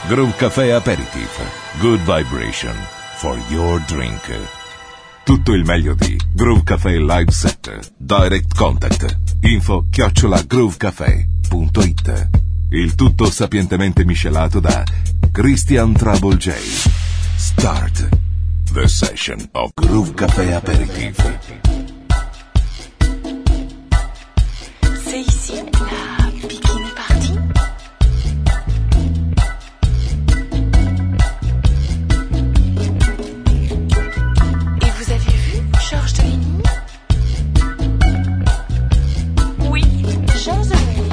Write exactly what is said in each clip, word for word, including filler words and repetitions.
Groove Café Aperitif. Good vibration for your drink. Tutto il meglio di Groove Café Live Set. Direct Contact. Info chiocciola groovecafé punto it. Il tutto sapientemente miscelato da Christian Trouble J. Start the session of Groove Café Aperitif. C'est ici la bikini party. Et vous avez vu Georges de Ligny? Oui, Georges de Ligny.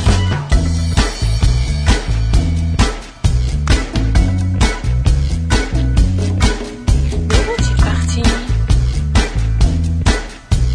Où est-il parti?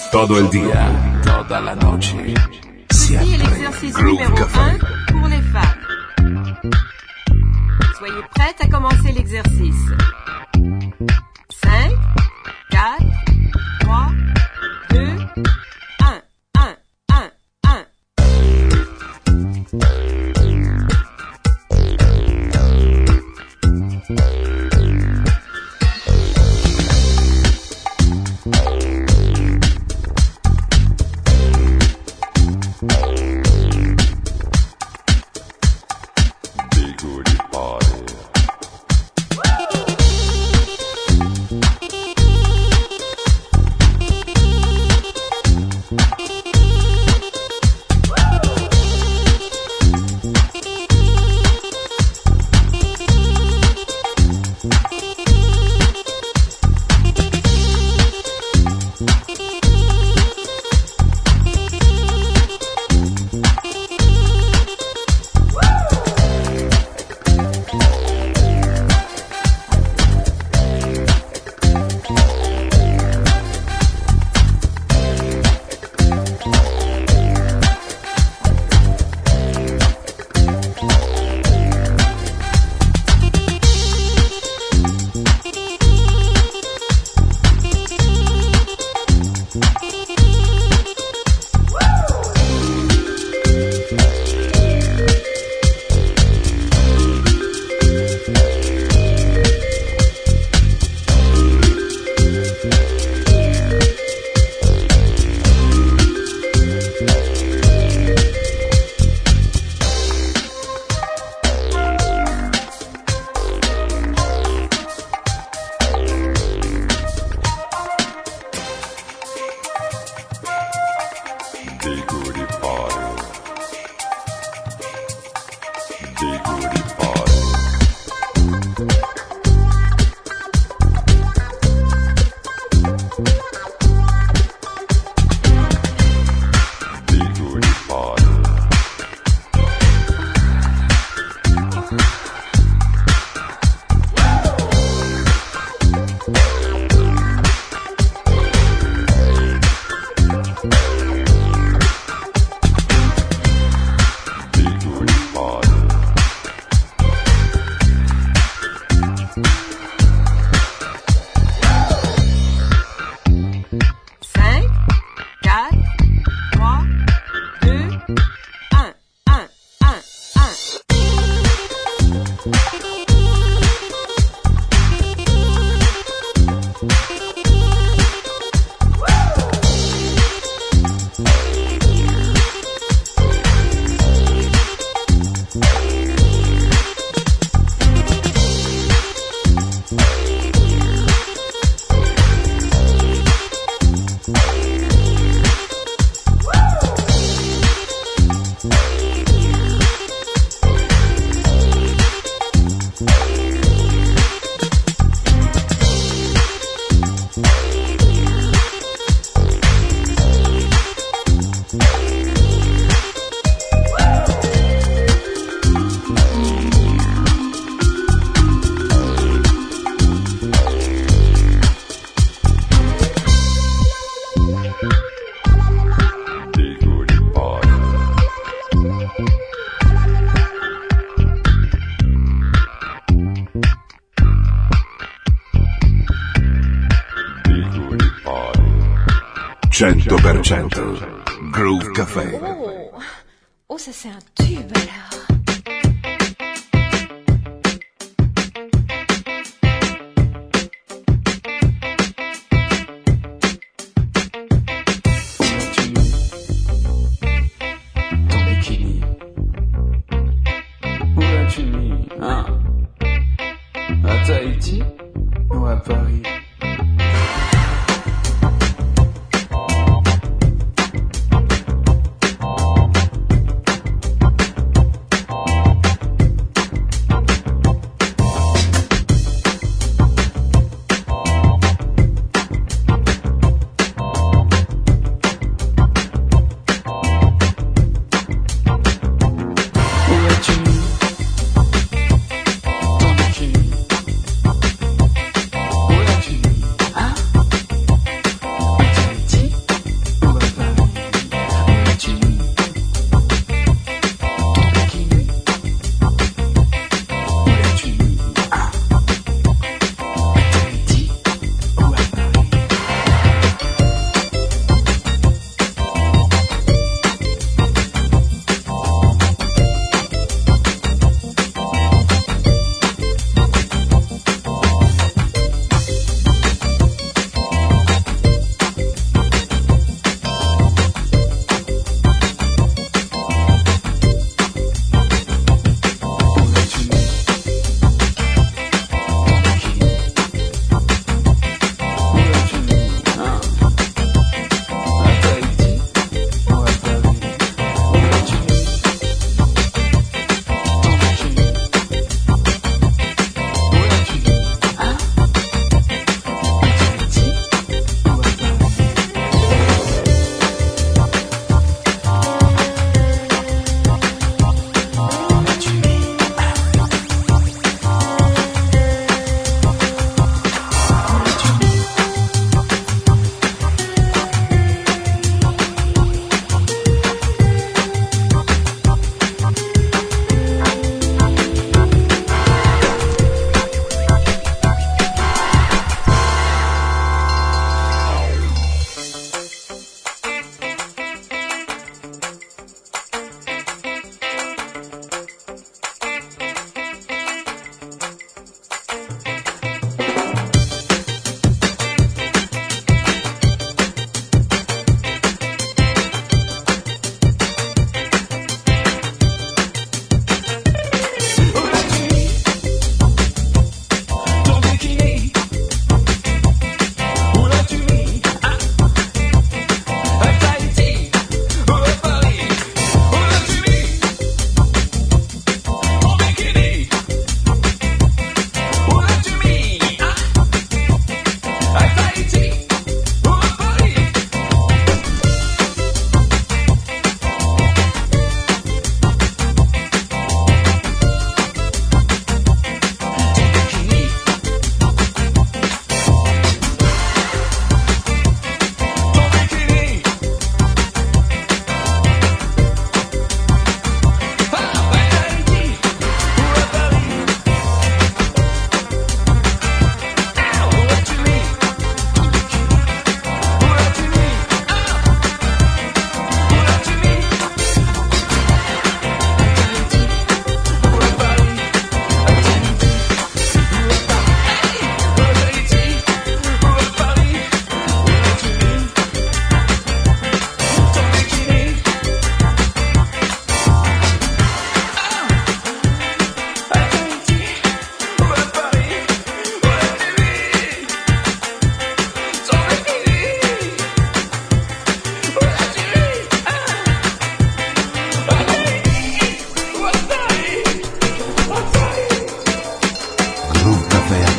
Todo el día, toda la noche. Siempre. L'exercice Groove numéro Café. un pour les femmes. Soyez prêtes à commencer l'exercice. cinq, quatre, trois, deux, un, un, un, un. cento per cento Groove Café. Oh, oh ça c'est un tube alors. Tahiti ou à Paris?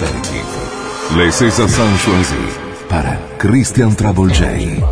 Aperitif. Laissez ça sans choisir par Christian Travolgei.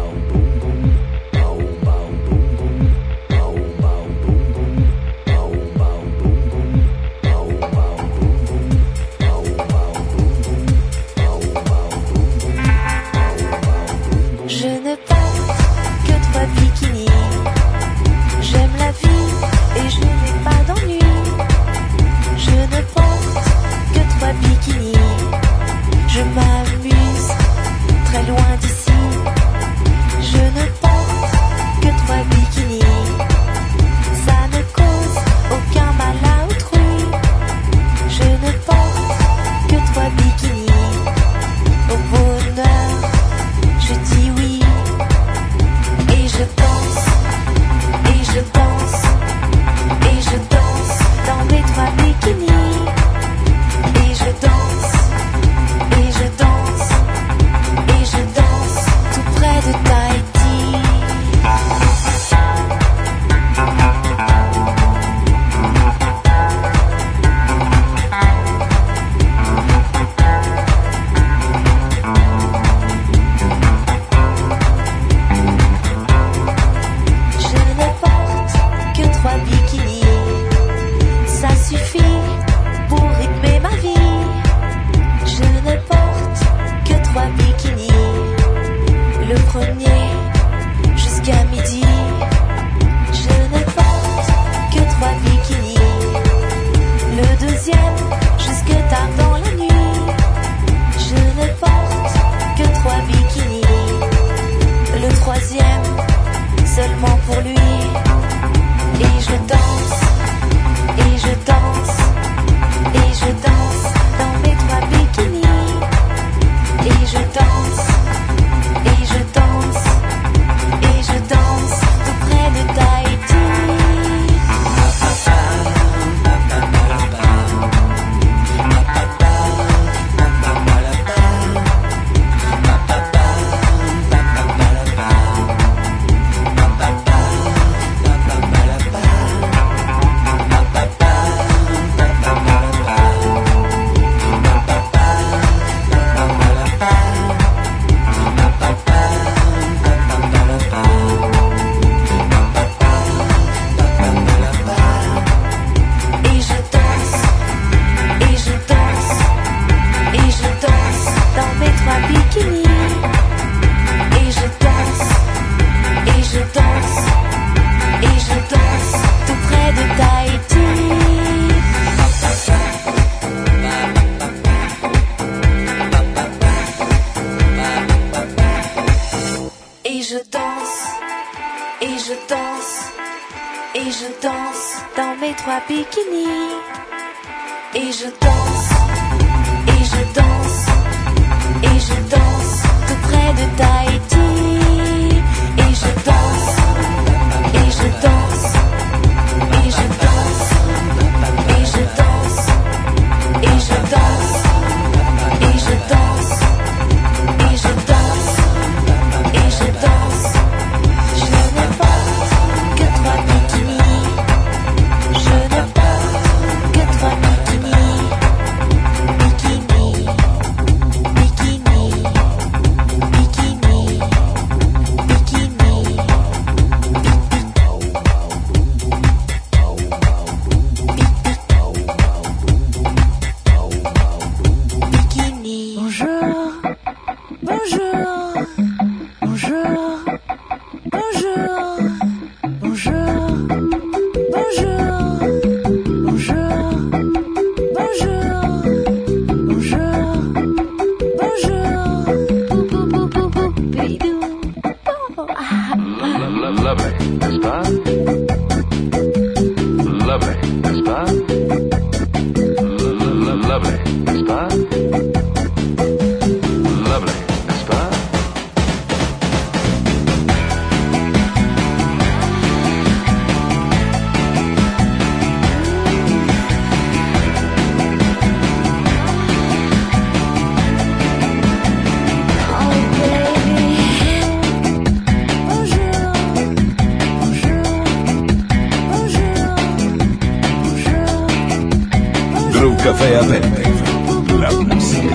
Groove Café Aperitif. La musique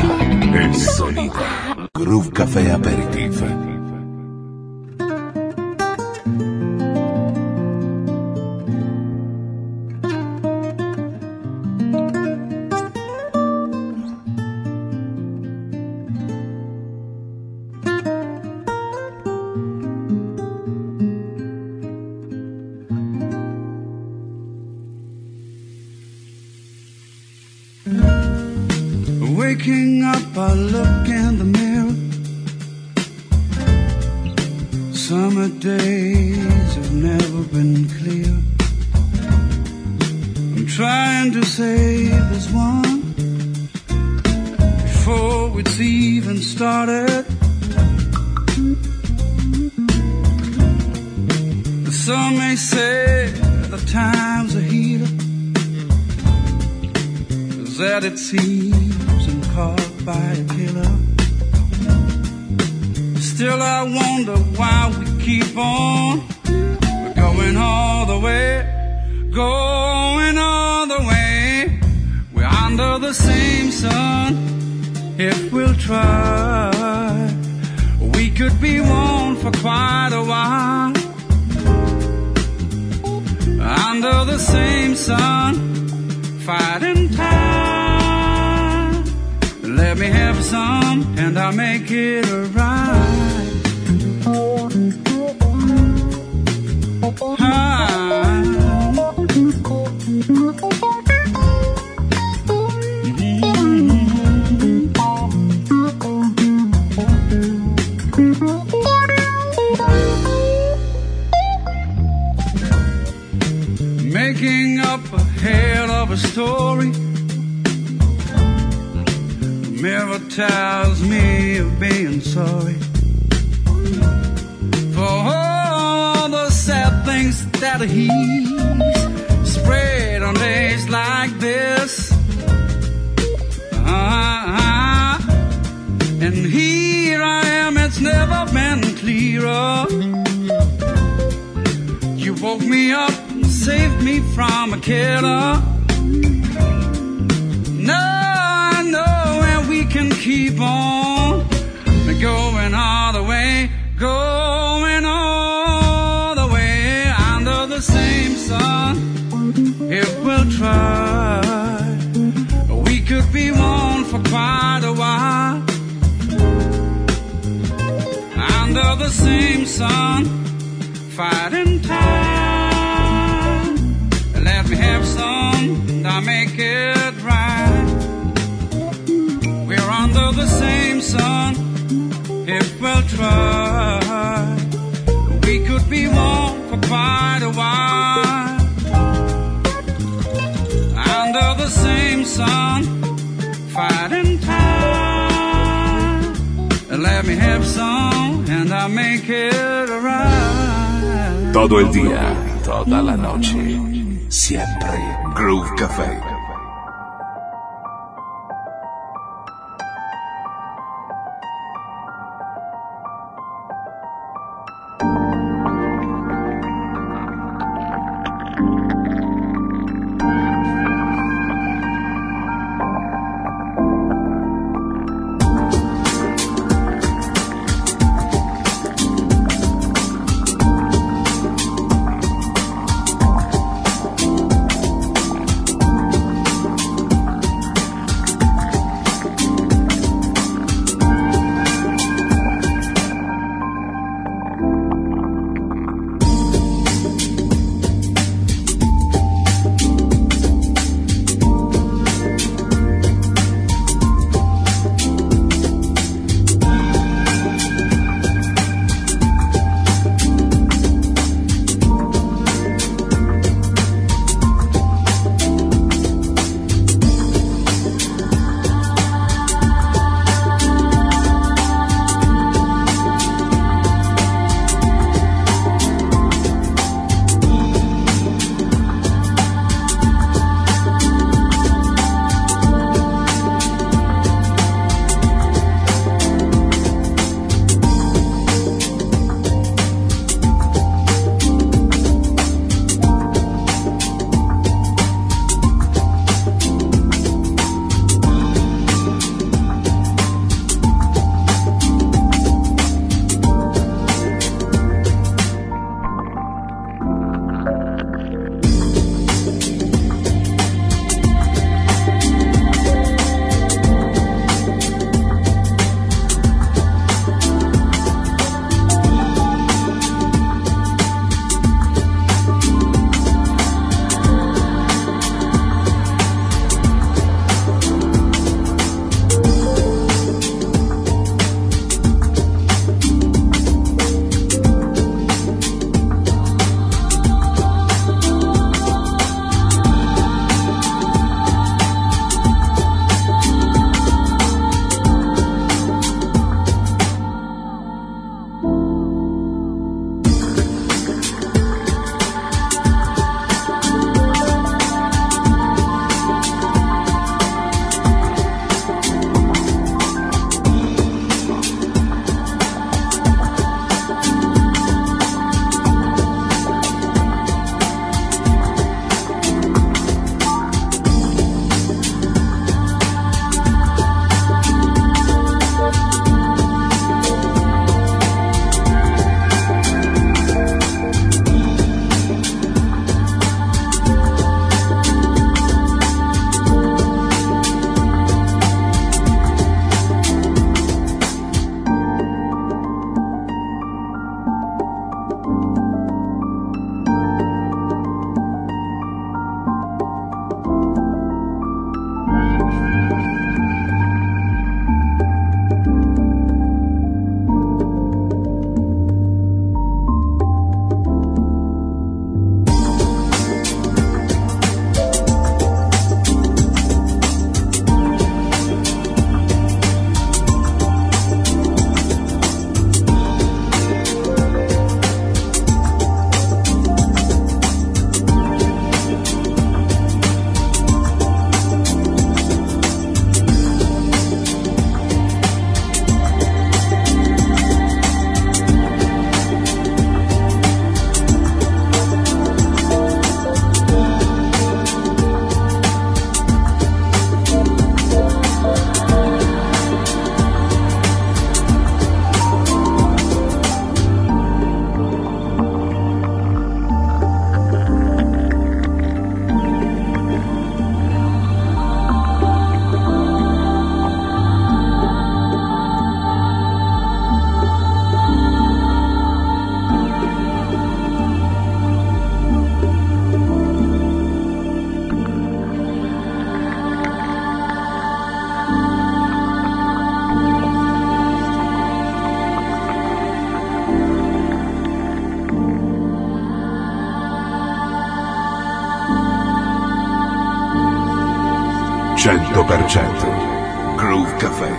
e solida. Groove Café Aperitif. Waking up, I look in the mirror. Summer days have never been clear. I'm trying to save this one before it's even started. Some may say the time's a heater, that it seems caught by a killer. Still I wonder why we keep on going all the way, going all the way. We're under the same sun. If we'll try, we could be one for quite a while. Under the same sun, fighting time. Let me have some and I'll make it right. Ah. Making up a hell of a story. The mirror tells me of being sorry for all the sad things that he's spread on days like this. Uh-huh. And here I am, it's never been clearer. You woke me up, saved me from a killer. No, I know, and we can keep on going all the way, going all the way under the same sun. If we'll try, we could be one for quite a while. Under the same sun, fighting time. Let me have some, and I'll make it right. We're under the same sun. If we'll try, we could be one for quite a while. Under the same sun, fighting time. Let me have some, and I'll make it right. Todo el día, toda la noche, siempre Groove Café. cento per cento Groove Café.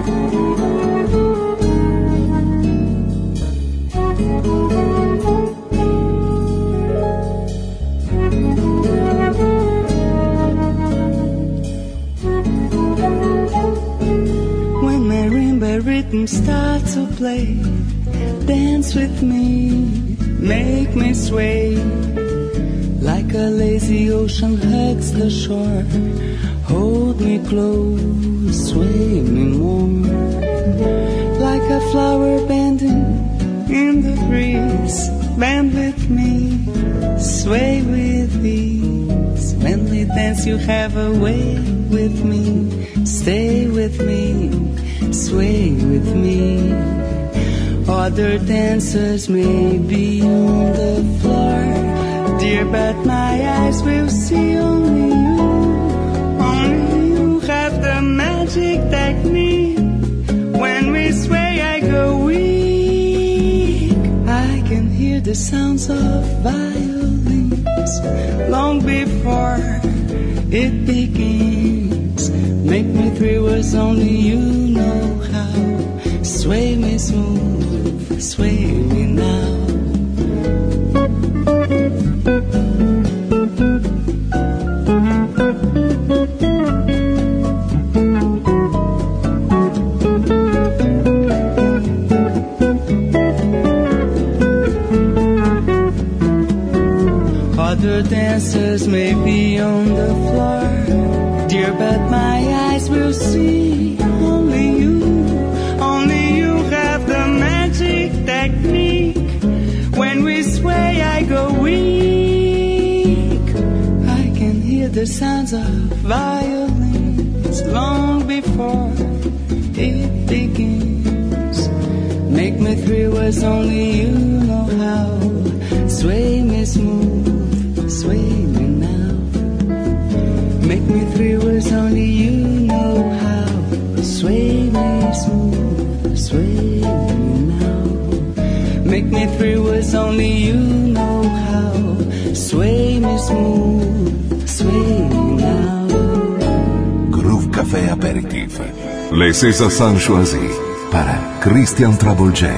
When marimba rhythm starts to play, dance with me, make me sway. Like a lazy ocean hugs the shore, hold me close, sway me more. Like a flower bending in the breeze, bend with me, sway with ease. When we dance you have a way with me, stay with me, sway with me. Other dancers may be on the floor, dear, but my eyes will see only you. Only you have the magic technique. When we sway, I go weak. I can hear the sounds of violins long before it begins. Make me thrill as only you know how. Sway me smooth, sway me now. Other dancers may be on the floor, dear, but my eyes will see only you. Only you have the magic technique. When we sway, I go weak. I can hear the sounds of violins long before it begins. Make me thrill as only you know how. Sway me smooth, sway me now. Make me thrill as only you know how. Sway me smooth, sway me now. Make me thrill as only you know how. Sway me smooth, sway me now. Groove Café Aperitif. Les César San Choisi para Christian Trouble J.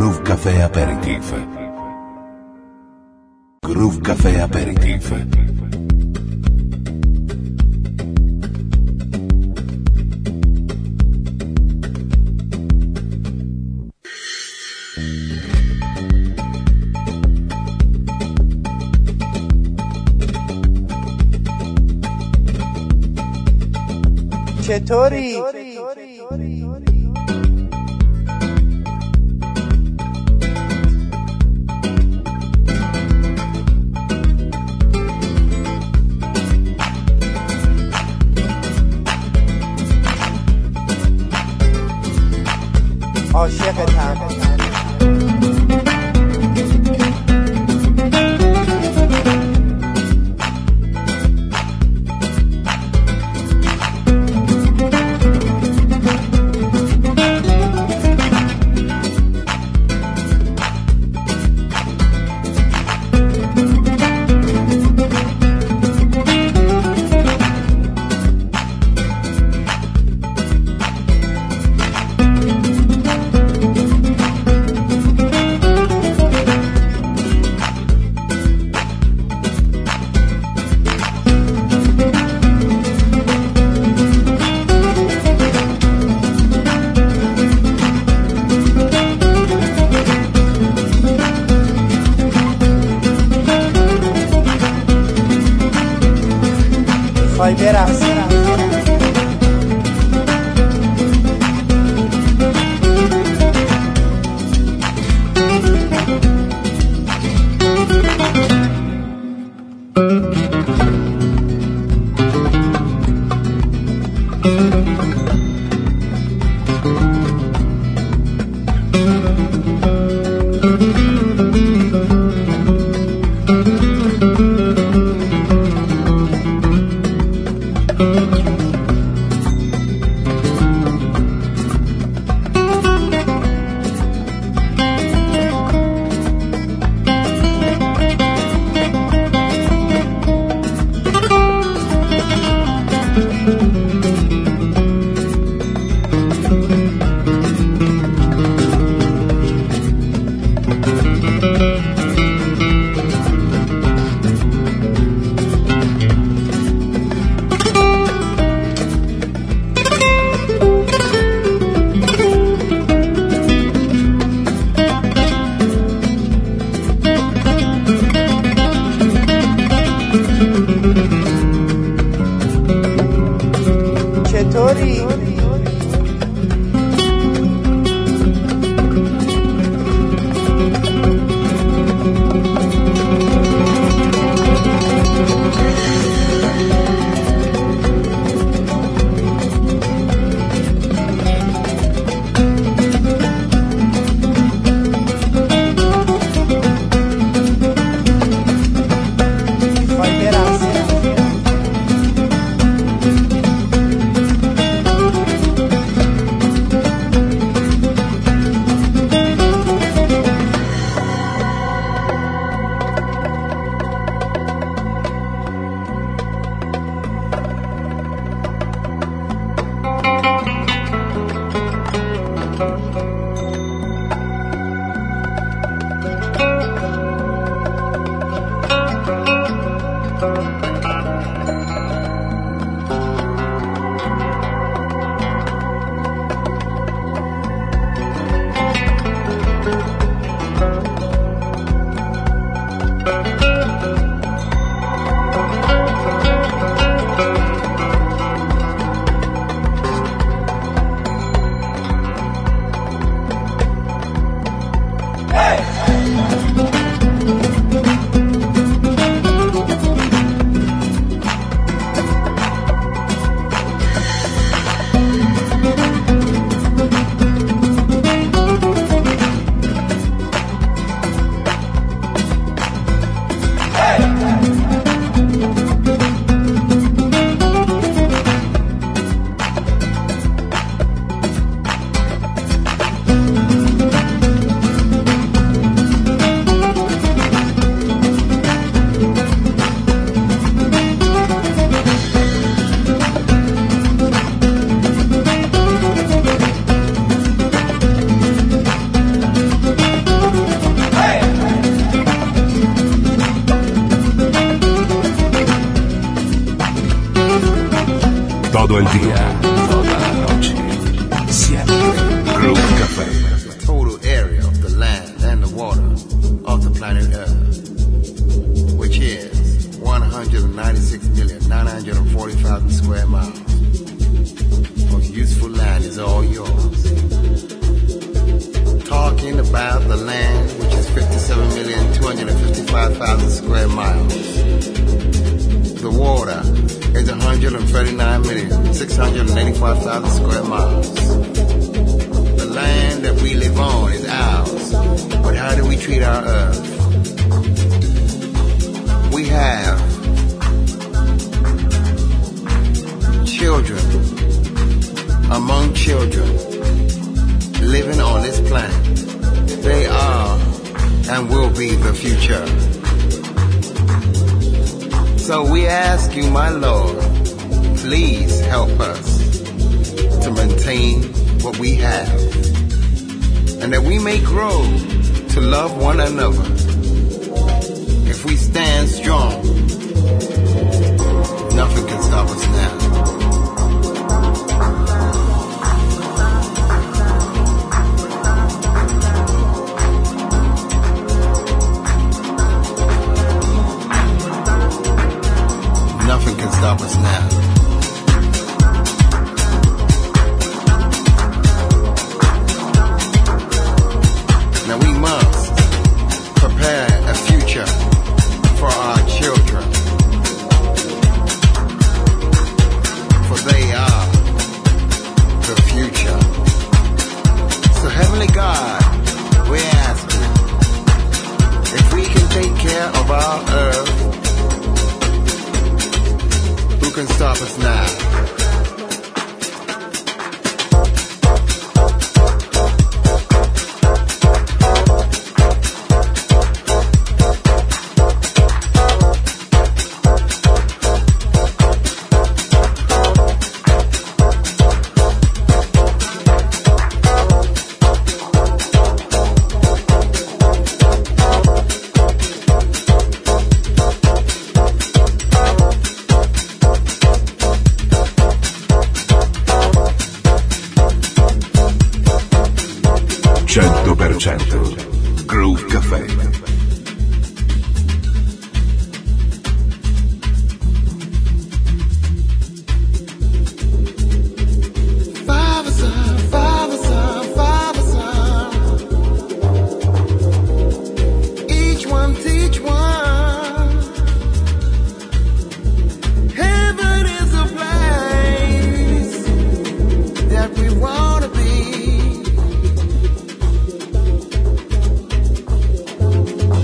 Groove Café Aperitif. Groove Café Aperitif. چطوری؟ عاشقتم. tutto il dia, tutta la noche, siempre Groove Café. The total area of the land and the water of the planet Earth, which is one hundred ninety-six million nine hundred forty thousand square miles of useful land, is all yours. Talking about the land, which is fifty-seven million two hundred fifty-five thousand square miles. The water is one hundred thirty-nine million six hundred eighty-five thousand square miles. The land that we live on is ours, but how do we treat our earth? We have children among children living on this planet. They are and will be the future. So we ask you, my Lord, please help us to maintain what we have, and that we may grow to love one another. If we stand strong, nothing can stop us now. Nothing can stop us now. Now we must prepare a future for our children, for they are the future. So Heavenly God, we ask you, if we can take care of our earth, who can stop us now? cento per cento Groove Café. Be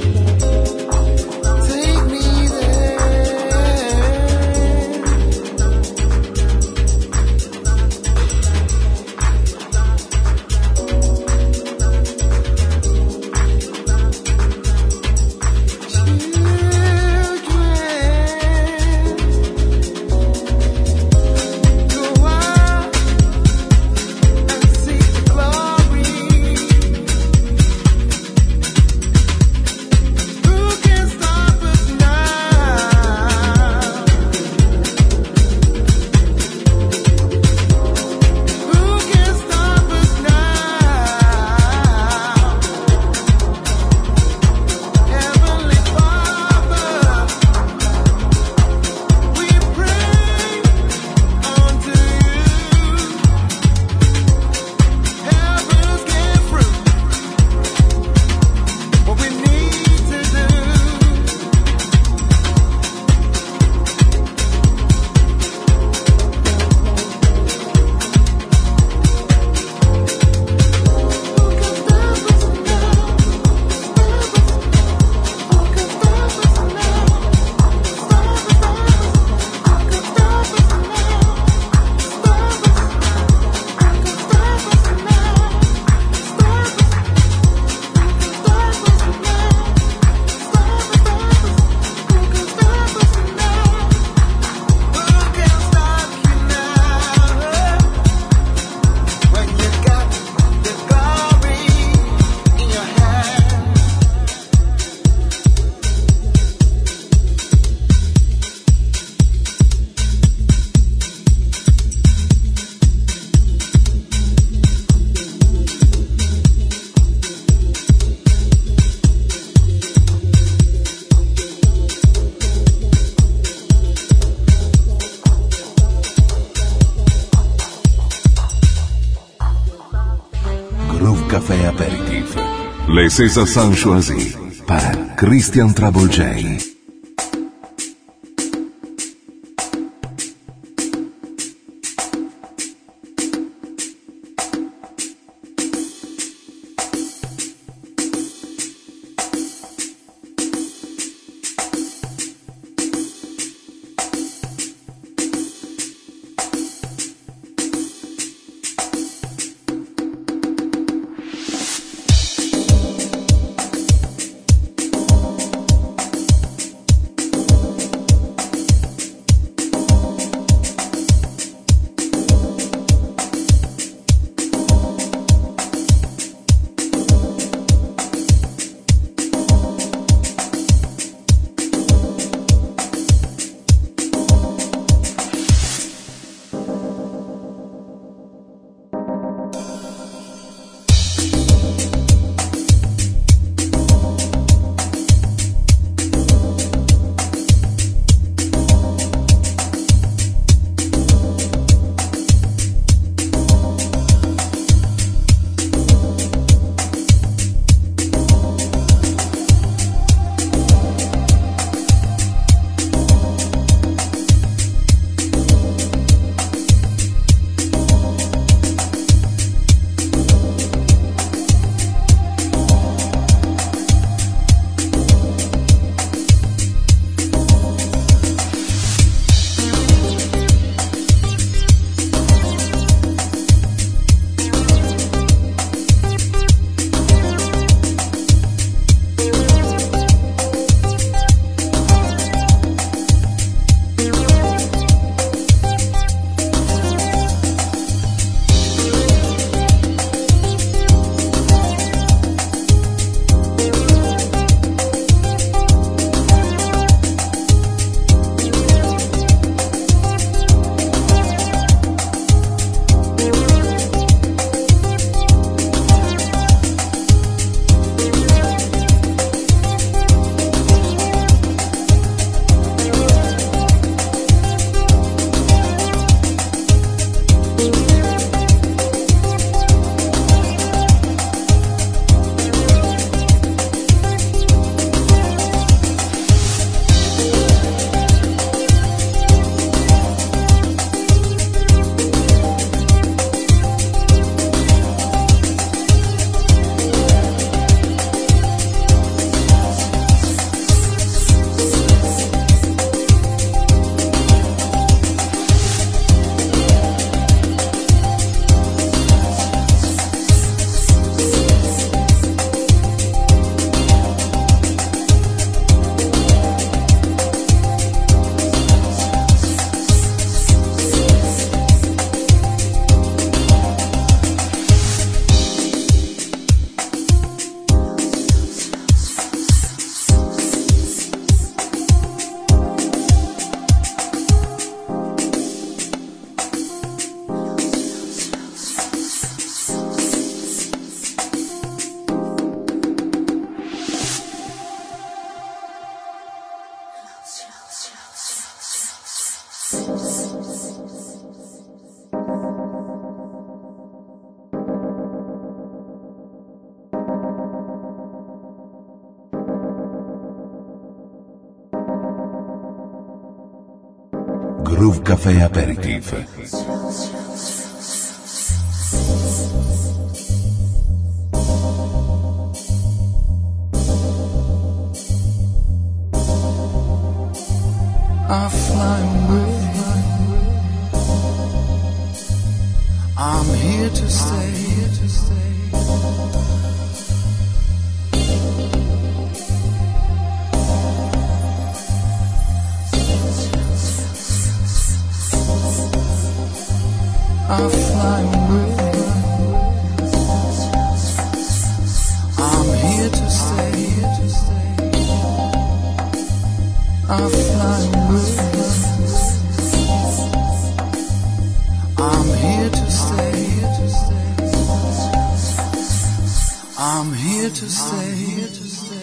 Groove Café Aperitif. Laissez ça sans choisir par Christian Travolgei. Groove Café Aperitif. I fly away. I'm here to stay. Here to stay. I fly away. I'm here to stay. Here to stay. I fly away. I'm here to stay. Here to stay. I'm here to stay. Here to stay.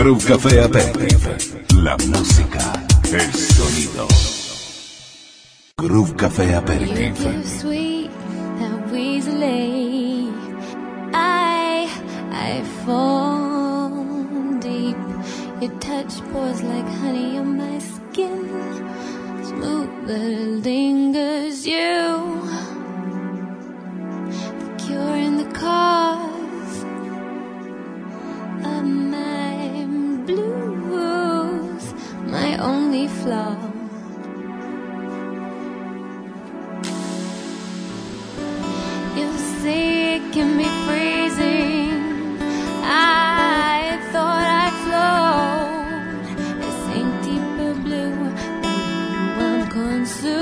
Groove Café Aperitif. La música, el sonido. Groove Café Aperitif. You're too sweet, that Weasley. I, I fall deep. Your touch pours like honey on my skin. Smooth but it lingers. You, the cure and the cause of my blues, my only flaw. You say it can be freezing. I thought I flowed. I sink deeper blue than I'm consumed.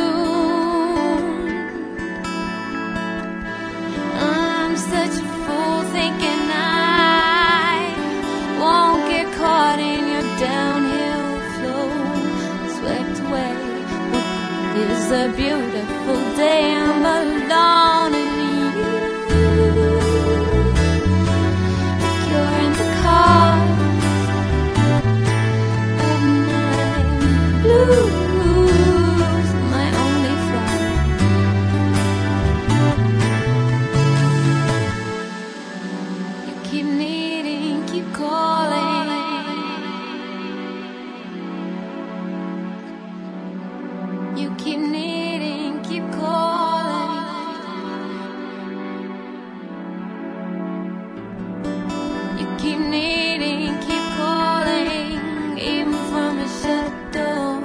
I'm such a fool thinking I won't get caught in your downhill flow. Swept away. It's a beautiful day. I'm alone in you. Blues, my only flaw. You keep needing, keep calling. You keep needing, keep calling. You keep needing, keep calling, even from a shut door.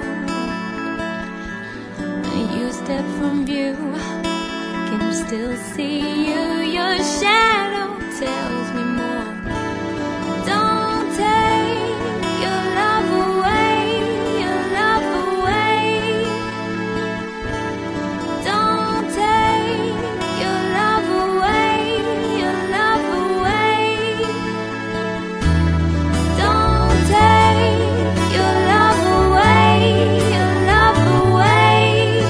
Step from view, can still see you. Your shadow tells me more. Don't take your love away, your love away. Don't take your love away, your love away. Don't take your love away, your love away.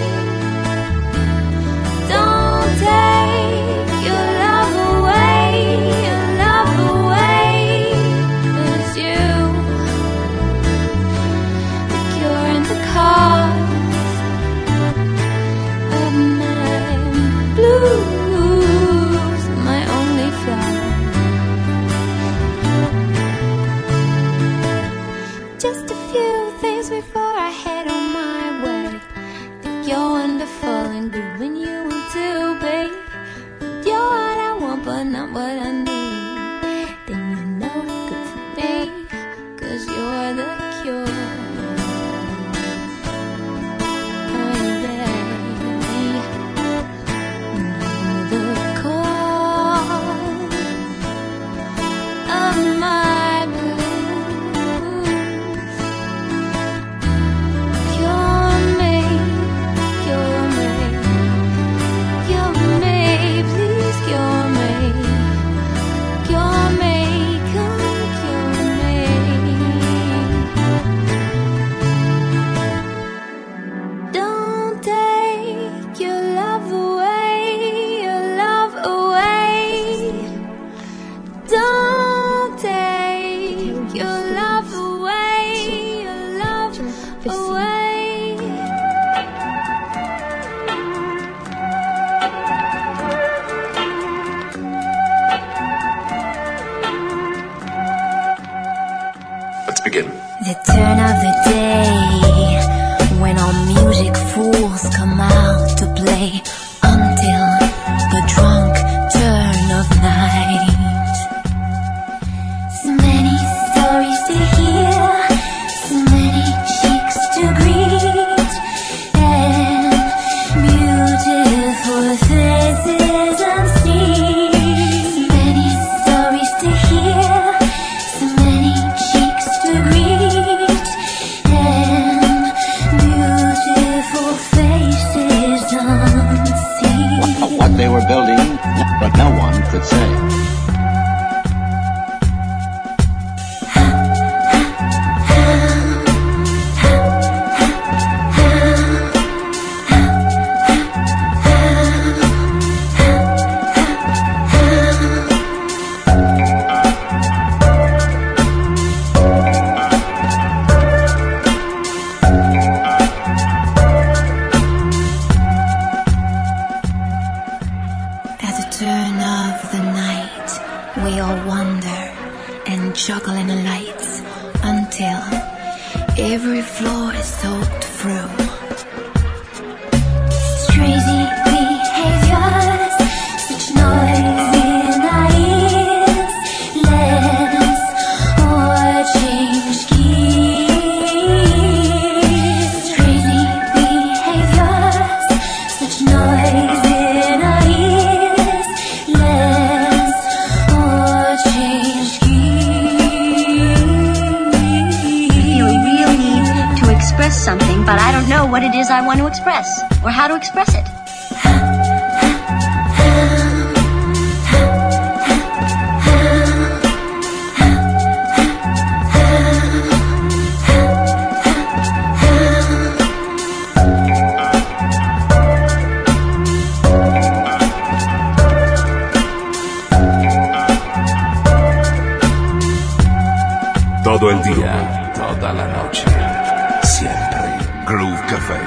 Don't take your love away, your love away. 'Cause you, the cure and the cause of my blues, my only flaw. Just a few things before I head on my way. Think you're wonderful and good when you want to be. You're what I want but not what I need. Then you know it's good for me, 'cause you're the cure. Oh baby, you're the cause of my blues. Cure me, cure me, cure me, please cure me, cure me, come cure me. Don't take your love away, your love away. Don't take your love away, your love away. Let's begin. The turn of the day, when all music fools come out to play, until the drunk turn of night. So many stories to hear, so many cheeks to greet, and beautiful faces unseen. So many stories to hear, so many cheeks to greet, and beautiful faces unseen. until every floor is soaked through. Crazy behaviors, such noise in our ears. Let's all change gears. Crazy behaviors, such noise in our ears. Let's all change gears. I feel a real need to express something, but I don't know what it is I want to express, or how to express it. Todo el día, toda la noche, siempre Groove Café.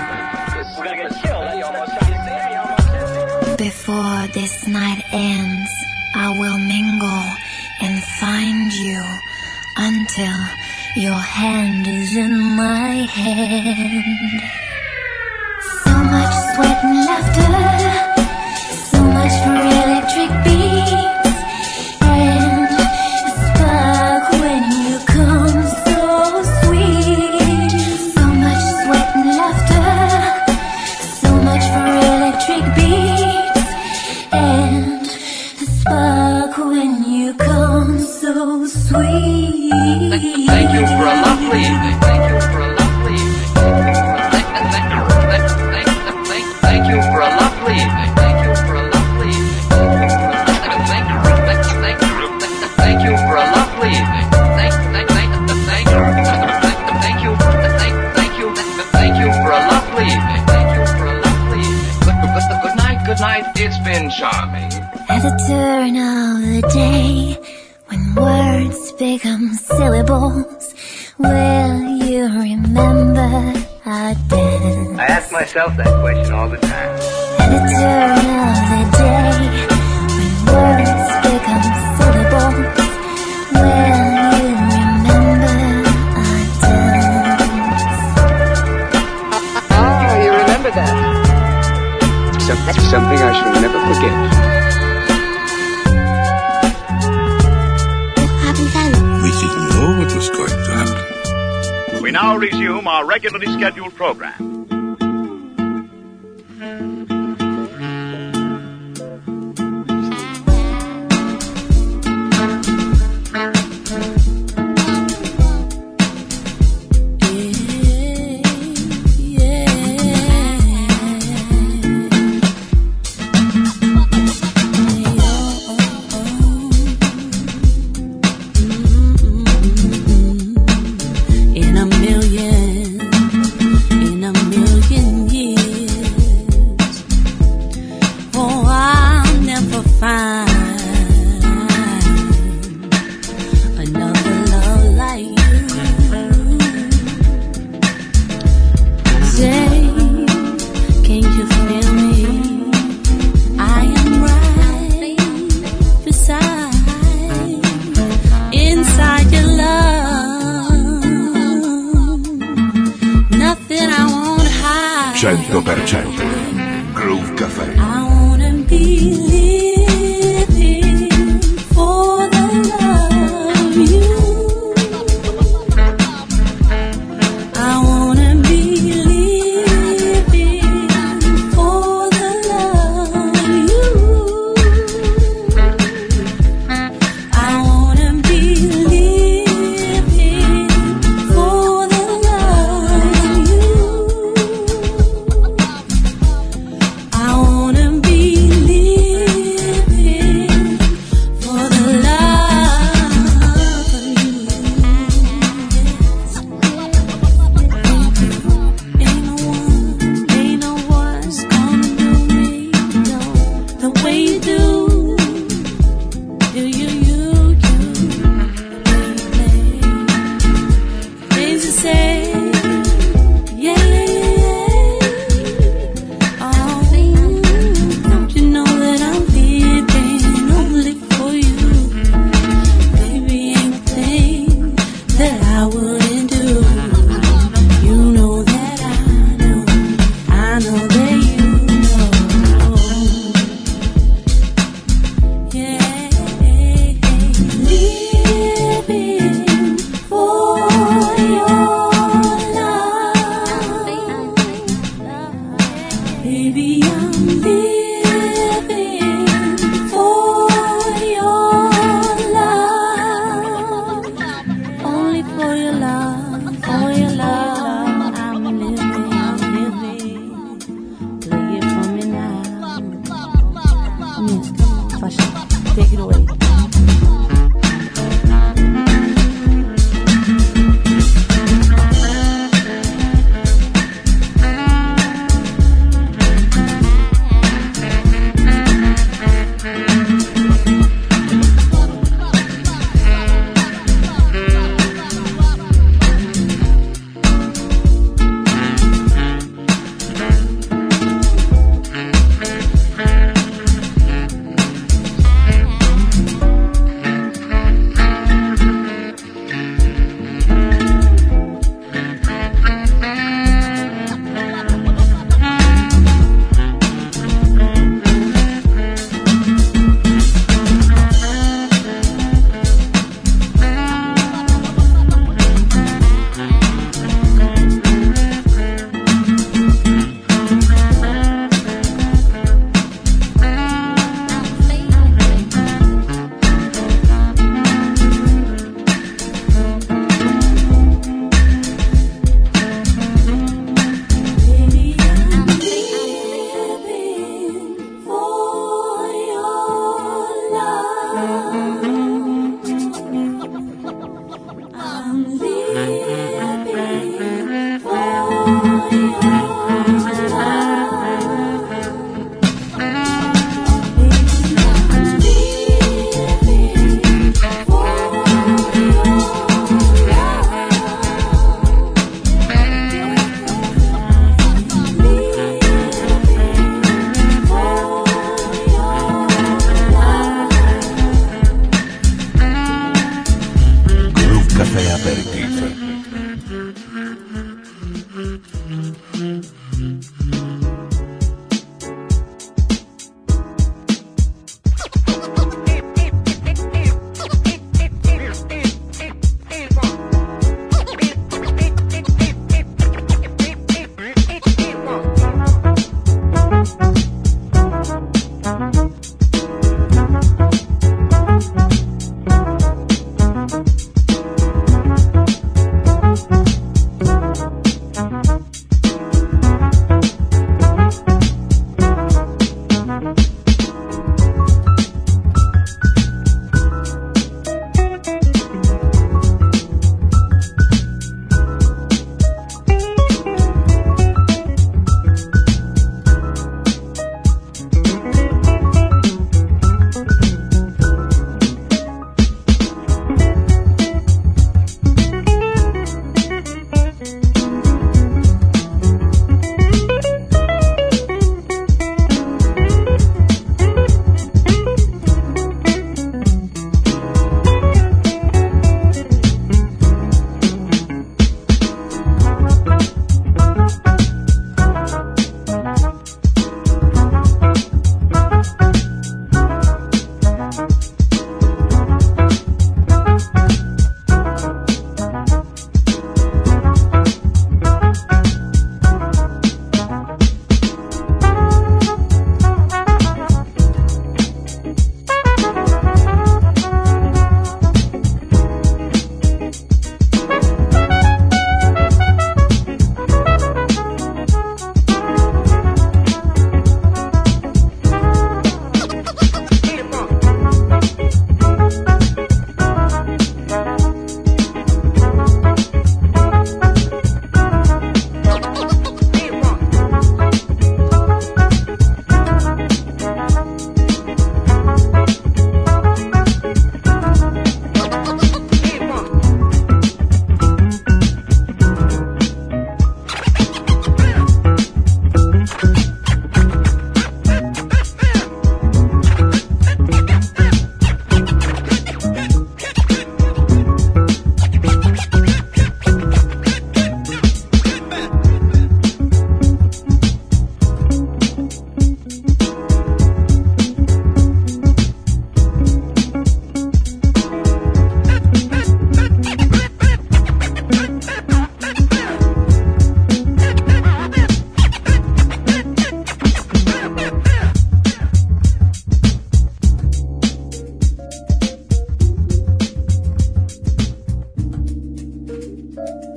Before this night ends, I will mingle and find you until your hand is in my hand. So much sweat and laughter, so much for electric beats, and a spark when you come so sweet. So much sweat and laughter, so much for electric beats, and a spark when you come so sweet. Thank you for a lovely evening. Thank you for a lovely evening. Thank you for a lovely evening. Thank you for a lovely evening. Thank you for a lovely evening. Thank thank thank thank you. Thank you. Thank you. Thank you for a lovely evening. Thank you for a lovely evening. Good night. Good night. It's been charming. At the turn of the day, when words become syllables, will you remember our dance? I ask myself that question all the time. At the turn of the day, when words become syllables, will you remember our dance? Ah, you remember that. So that's something I shall never forget. We didn't know what was going to happen. We now resume our regularly scheduled program. In a million, in a million years, oh, I'll never find another love like you. Say, can you feel me? I am right beside, inside your love. Nothing I won't hide. cento per cento Groove Café. I wanna be living for the love of you. I wanna be living for the love of you. I wanna be living for the love of you. I wanna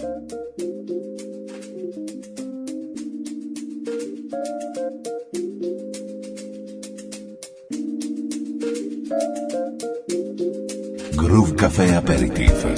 Groove Café Aperitif.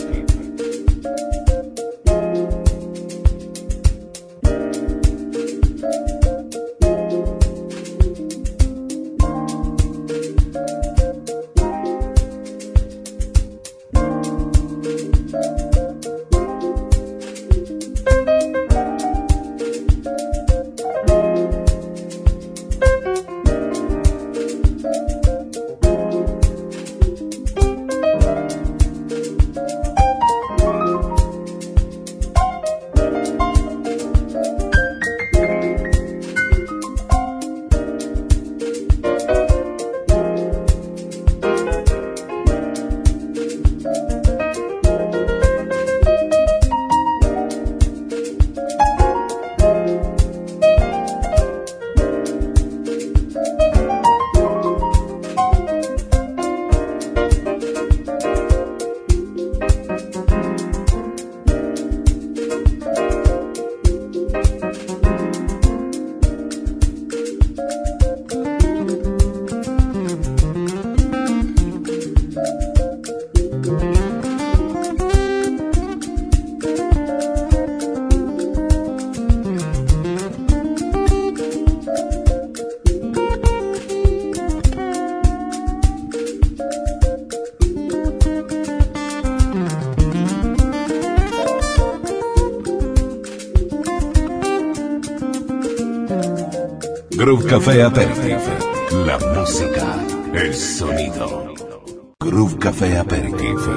Groove Café Aperitif. La música, el sonido. Groove Café Aperitif.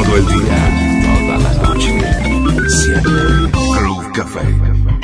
todo el día, toda la noche, siempre. Groove Café.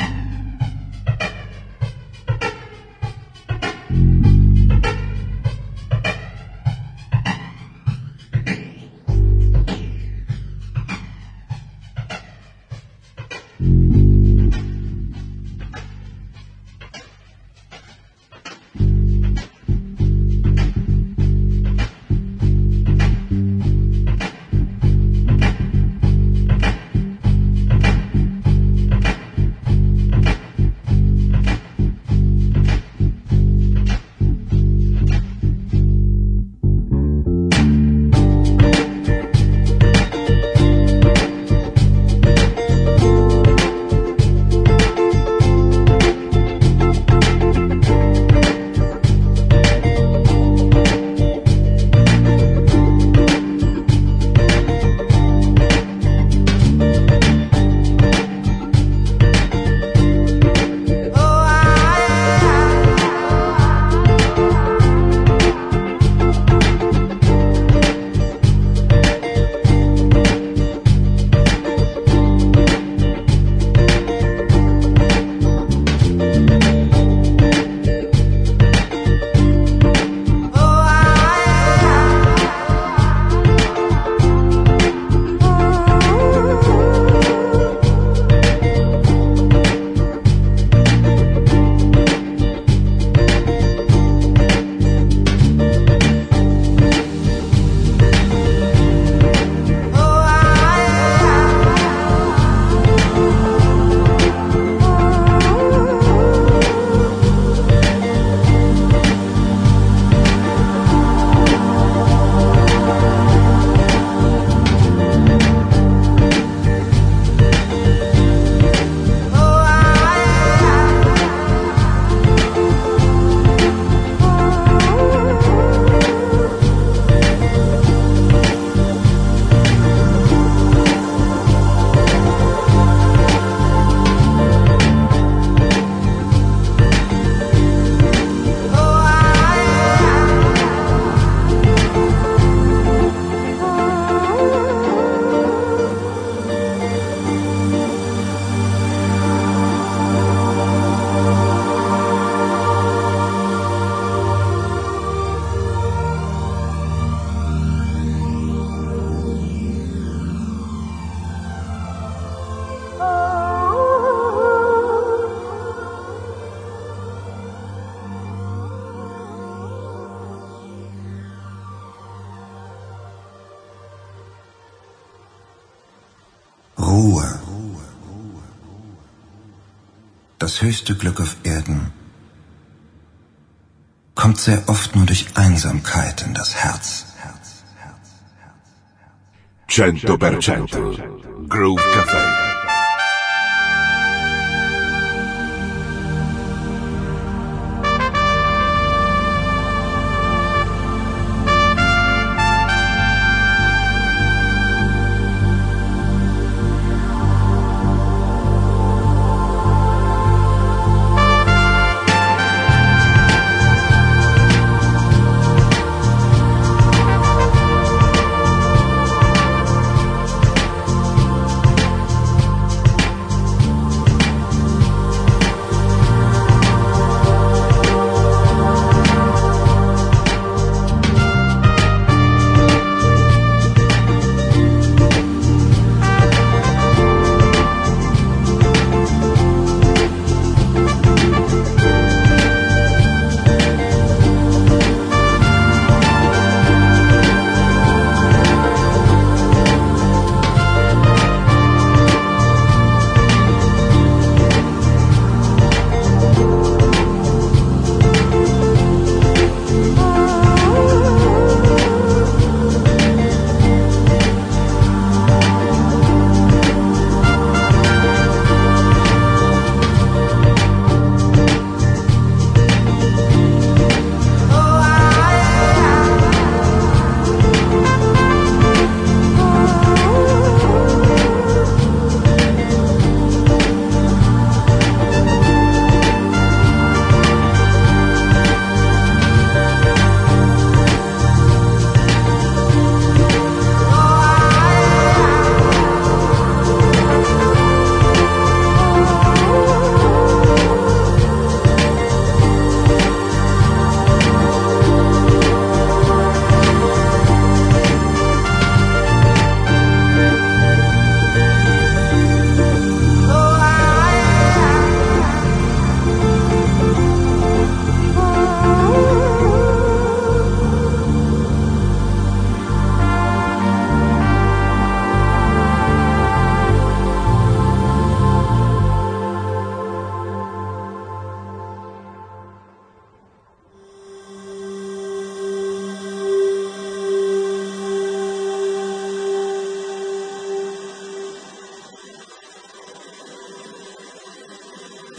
Ruhe. Das höchste Glück auf Erden kommt sehr oft nur durch Einsamkeit in das Herz. cento per cento Groove Café.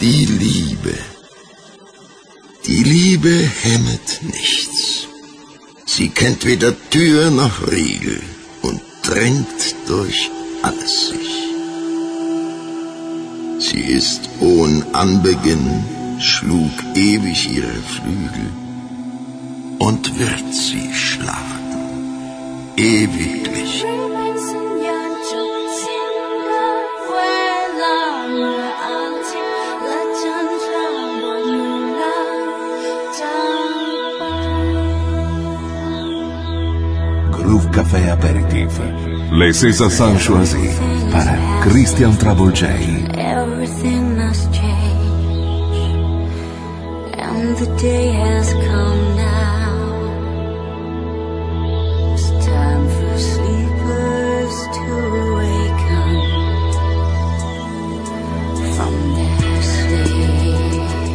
Die Liebe. Die Liebe hemmet nichts. Sie kennt weder Tür noch Riegel und dringt durch alles sich. Sie ist ohn Anbeginn, schlug ewig ihre Flügel und wird sie schlachten, ewiglich. Groove Café Aperitif. Les César Sanchoisi para Christian Trouble J. Everything must change, and the day has come now. It's time for sleepers to awaken from their sleep.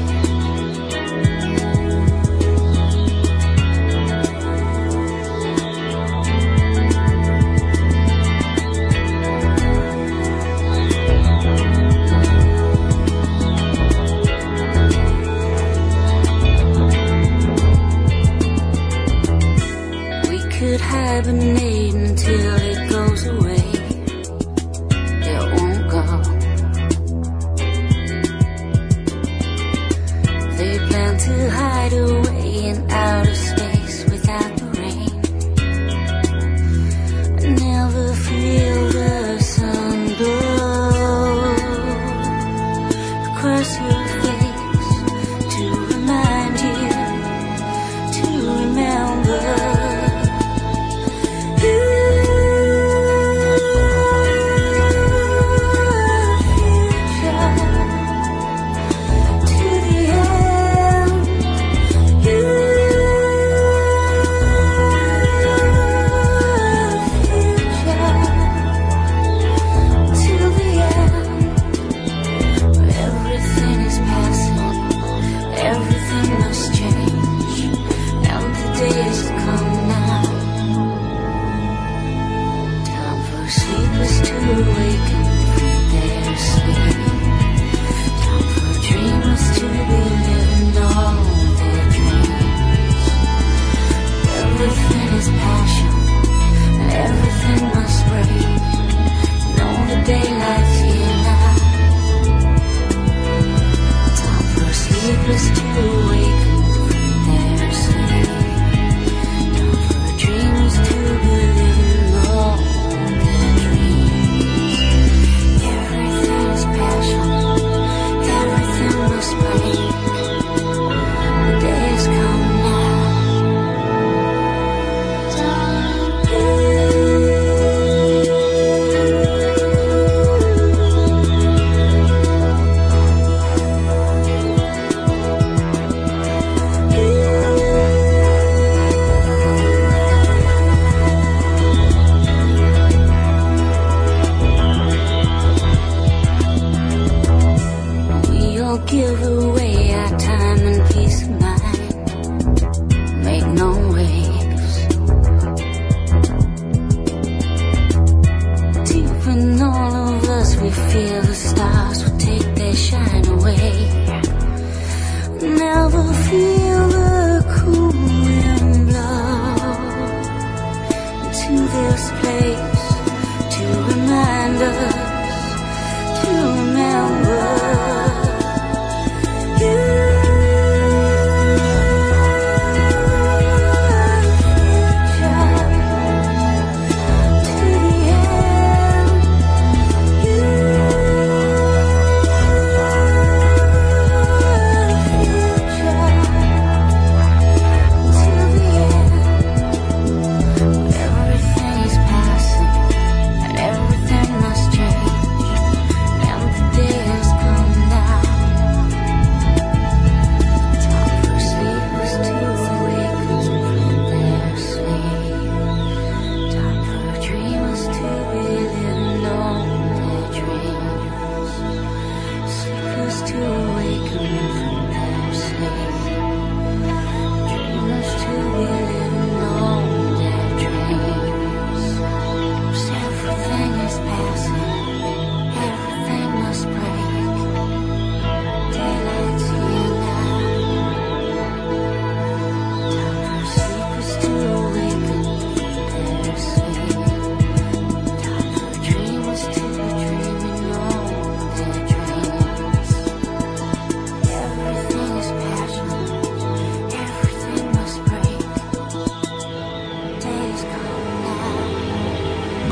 Hibernate until it goes away. It won't go. They plan to hide away in outer space without the rain. Never feel the sun glow across your face to remind you to remember.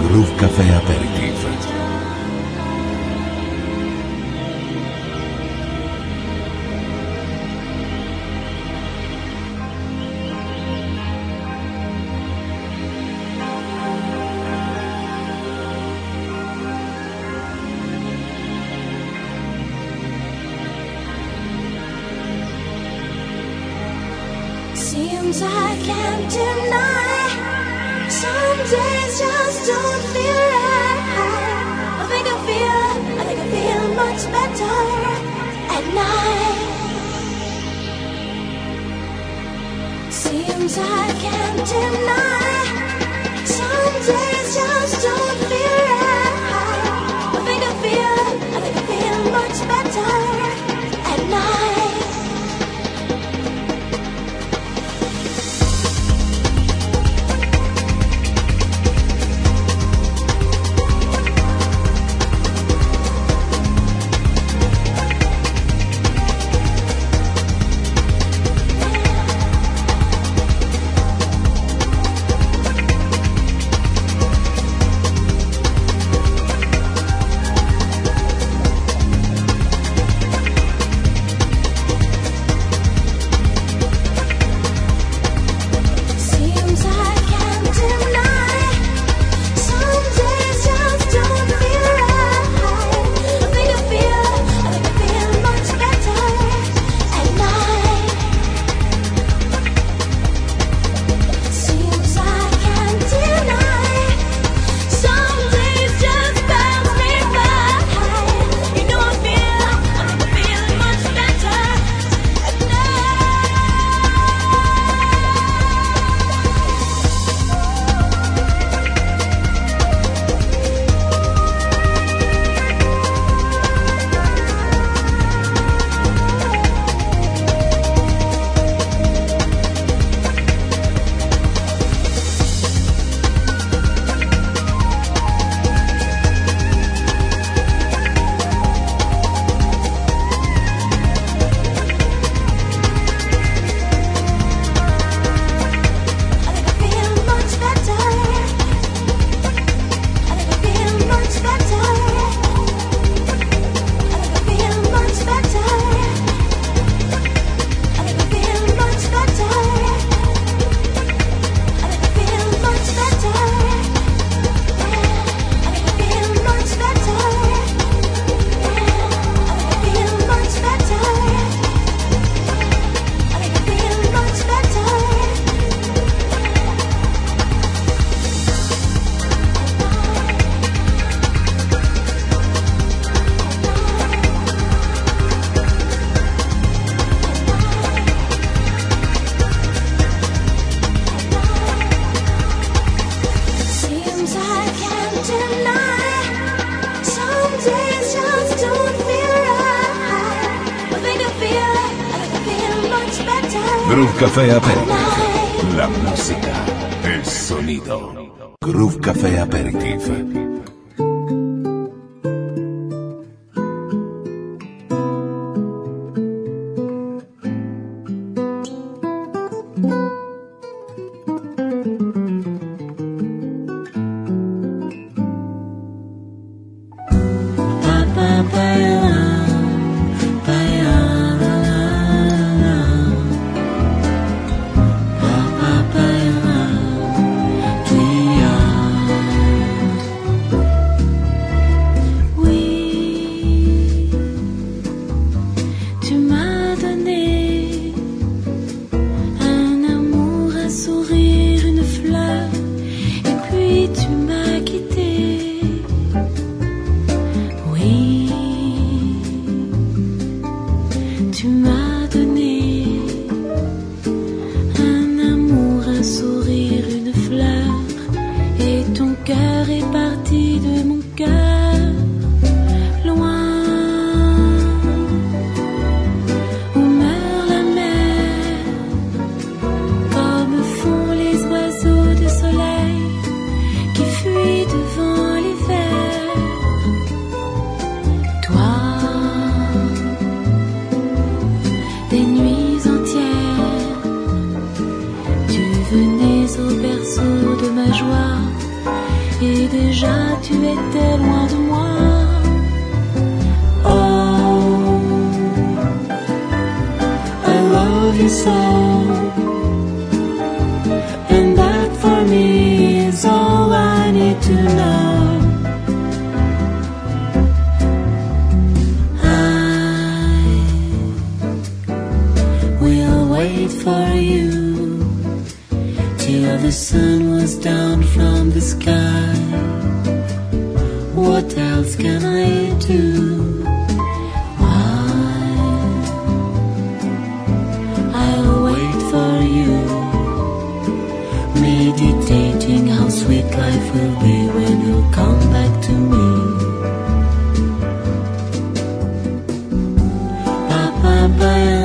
Groove Café Aperitif. Seems I can't deny. Some days just don't feel right. I think I feel, I think I feel much better at night. Seems I can't deny. Some days just don't feel right. I think I feel, I think I feel much better at night. Groove Café Aperitif. La música, el sonido. Groove Café Aperitif. Venez au berceau de ma joie et déjà tu étais loin de moi. Oh, I love you so, and that for me is all I need to know. For you till the sun was down from the sky. What else can I do? Why? I'll wait for you, meditating how sweet life will be when you come back to me. Ba-ba-ba.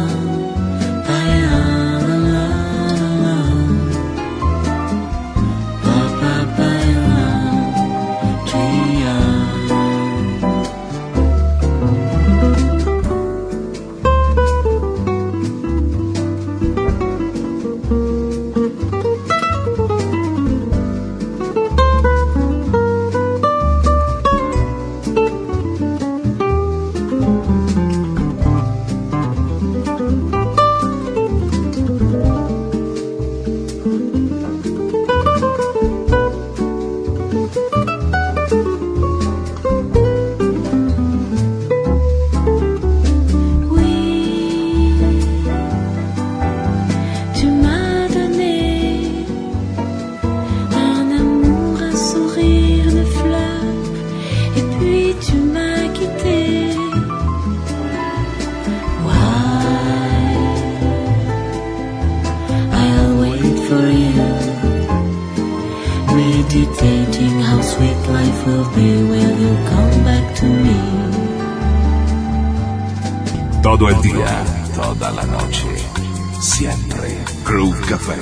Meditating how sweet life will be when you come back to me. Todo el día, toda la noche, siempre Groove Café.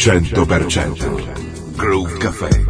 cento per cento Groove Café.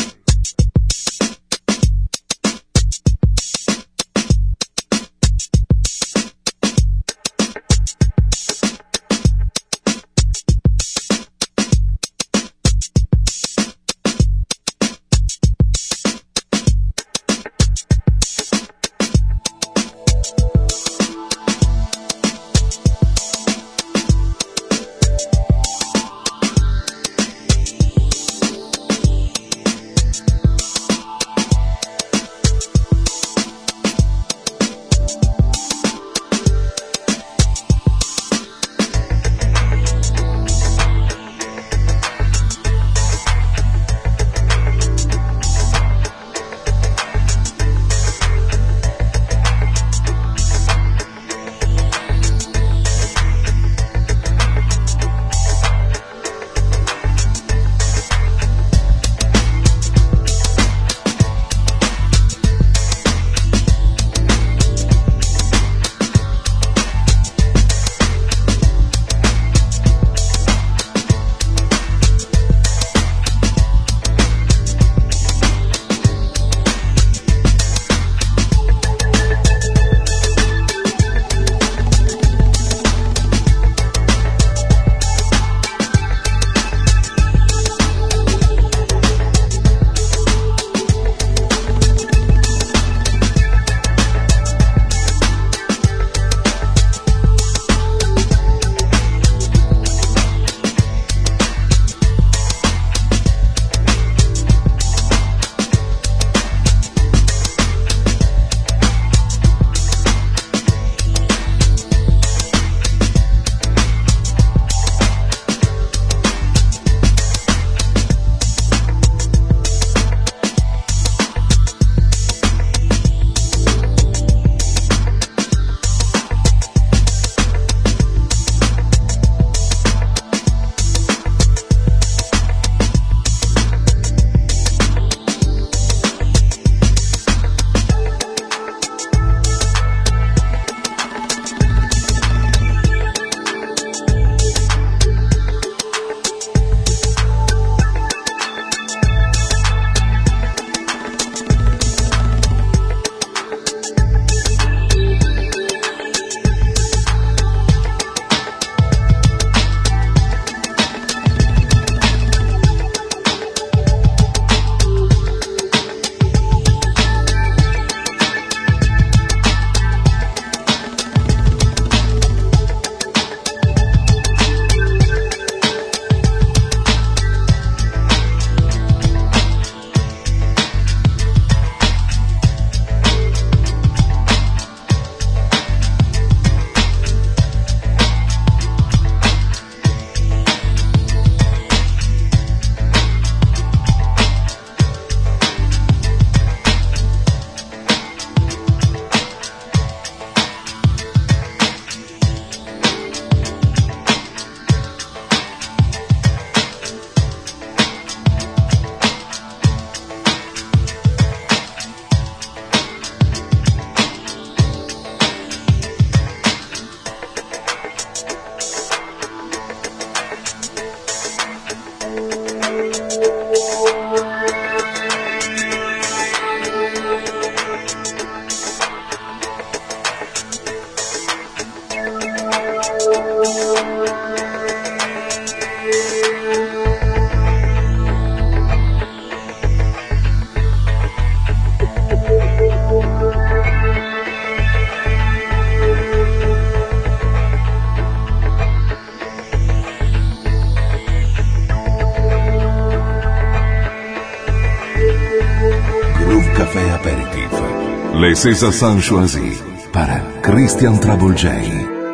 Les César Sanchoisi para Christian Travolgei.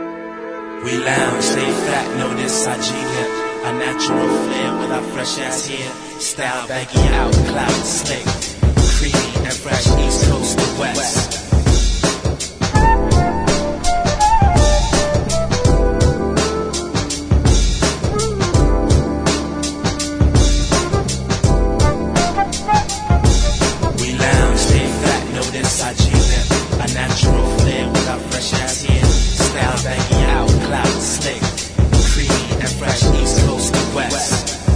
We lounge, stay fat, notice I G-nip. A natural flair with our fresh ass hair. Style baggy out, cloud slick. Creamy and fresh, east coast to west. Style baggy out, cloud slick, creamy and fresh, east coast to west.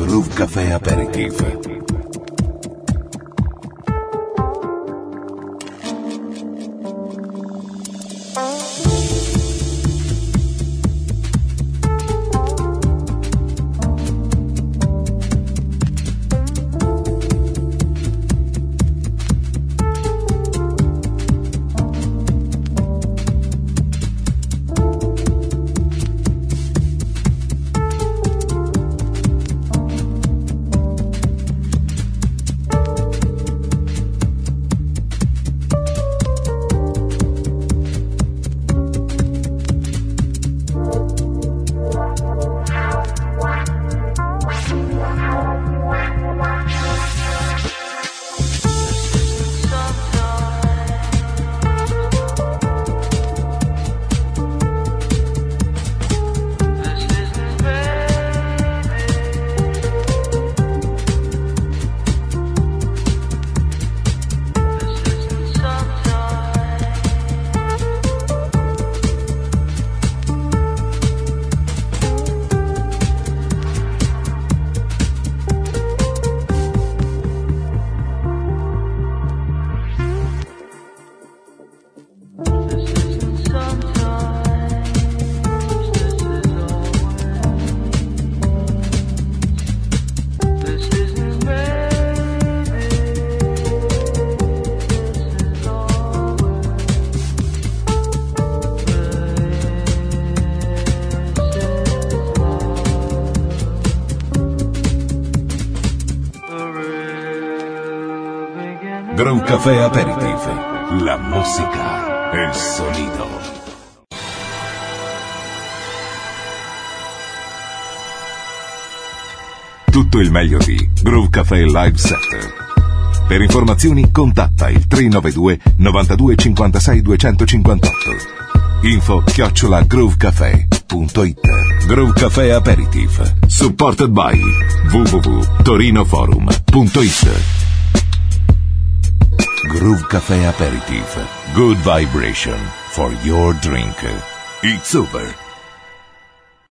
Groove Café Aperitif. Groove Café Aperitif, la música, el sonido. Tutto il meglio di Groove Café Live Set. Per informazioni contatta il tre nove due novantadue cinquantasei duecentocinquantotto. Info chiocciola groovecafé punto it. Groove Café Aperitif, supported by w w w punto torinoforum punto it. Groove Café Aperitif. Good vibration for your drink. It's over.